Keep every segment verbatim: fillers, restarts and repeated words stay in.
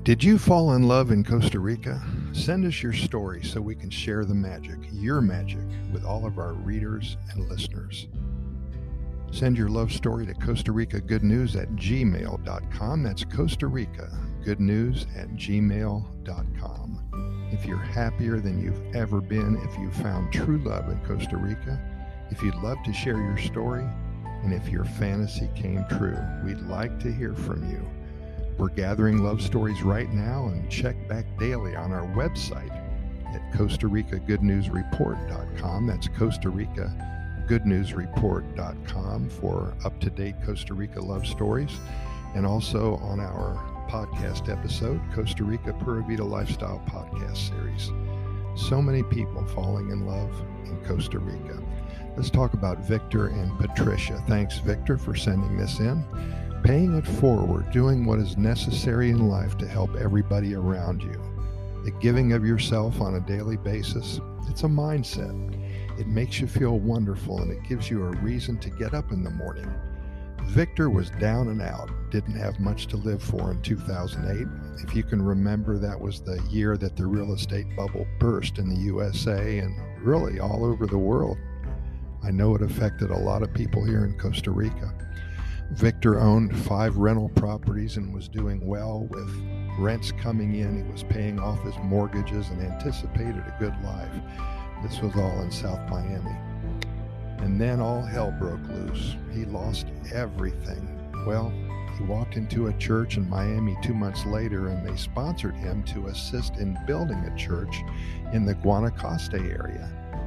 Did you fall in love in Costa Rica? Send us your story so we can share the magic, your magic, with all of our readers and listeners. Send your love story to Costa Rica Good News at gmail dot com. That's Costa Rica Good News at gmail dot com. If you're happier than you've ever been, if you found true love in Costa Rica, if you'd love to share your story, and if your fantasy came true, we'd like to hear from you. We're gathering love stories right now, and check back daily on our website at Costa Rica Good News Report dot com. That's Costa Rica Good News Report dot com for up-to-date Costa Rica love stories, and also on our podcast episode, Costa Rica Pura Vida Lifestyle Podcast Series. So many people falling in love in Costa Rica. Let's talk about Victor and Patricia. Thanks, Victor, for sending this in. Paying it forward, doing what is necessary in life to help everybody around you. The giving of yourself on a daily basis, it's a mindset. It makes you feel wonderful, and it gives you a reason to get up in the morning. Victor was down and out, didn't have much to live for in two thousand eight. If you can remember, that was the year that the real estate bubble burst in the U S A and really all over the world. I know it affected a lot of people here in Costa Rica. Victor owned five rental properties and was doing well with rents coming in. He was paying off his mortgages and anticipated a good life. This was all in South Miami. And then all hell broke loose. He lost everything. Well, he walked into a church in Miami two months later, and they sponsored him to assist in building a church in the Guanacaste area.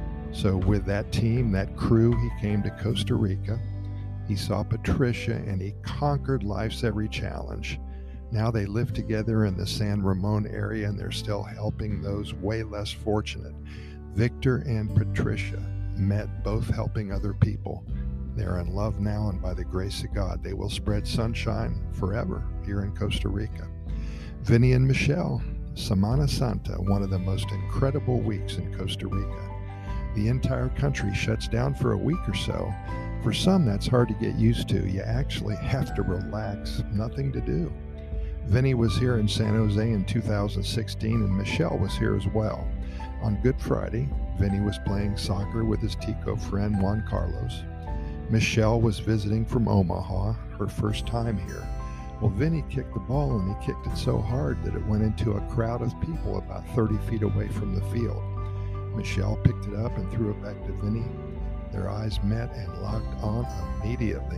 So with that team, that crew, he came to Costa Rica. He saw Patricia, and he conquered life's every challenge. Now they live together in the San Ramon area, and they're still helping those way less fortunate. Victor and Patricia met, both helping other people. They're in love now, and by the grace of God, they will spread sunshine forever here in Costa Rica. Vinny and Michelle, Semana Santa, one of the most incredible weeks in Costa Rica. The entire country shuts down for a week or so. For some, that's hard to get used to. You actually have to relax, nothing to do. Vinny was here in San Jose in two thousand sixteen, and Michelle was here as well. On Good Friday, Vinny was playing soccer with his Tico friend Juan Carlos. Michelle was visiting from Omaha, her first time here. Well, Vinny kicked the ball, and he kicked it so hard that it went into a crowd of people about thirty feet away from the field. Michelle picked it up and threw it back to Vinny. Their eyes met and locked on immediately.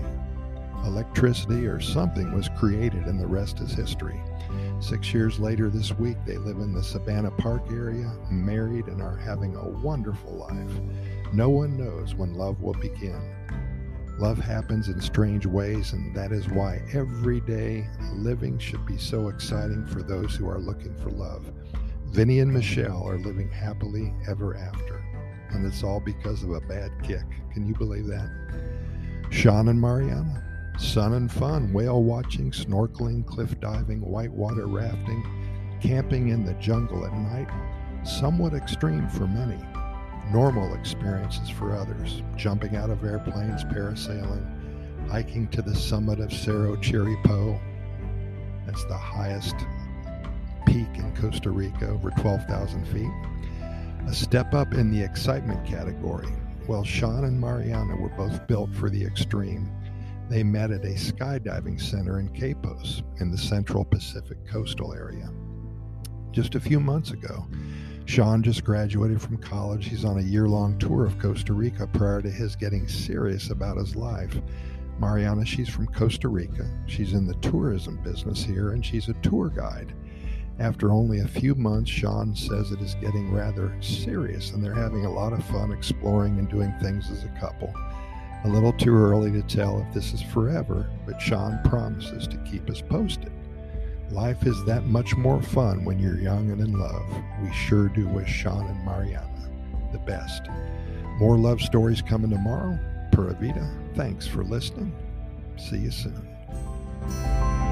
Electricity or something was created, and the rest is history. Six years later this week, they live in the Savannah Park area, married, and are having a wonderful life. No one knows when love will begin. Love happens in strange ways, and that is why everyday living should be so exciting for those who are looking for love. Vinny and Michelle are living happily ever after. And it's all because of a bad kick. Can you believe that? Sean and Mariana, sun and fun, whale watching, snorkeling, cliff diving, whitewater rafting, camping in the jungle at night, somewhat extreme for many. Normal experiences for others, jumping out of airplanes, parasailing, hiking to the summit of Cerro Chiripo. That's the highest peak in Costa Rica, over twelve thousand feet. A step up in the excitement category. Well, Sean and Mariana were both built for the extreme. They met at a skydiving center in Quepos in the Central Pacific coastal area. Just a few months ago, Sean just graduated from college. He's on a year-long tour of Costa Rica prior to his getting serious about his life. Mariana, she's from Costa Rica. She's in the tourism business here, and she's a tour guide. After only a few months, Sean says it is getting rather serious, and they're having a lot of fun exploring and doing things as a couple. A little too early to tell if this is forever, but Sean promises to keep us posted. Life is that much more fun when you're young and in love. We sure do wish Sean and Mariana the best. More love stories coming tomorrow. Pura Vida, thanks for listening. See you soon.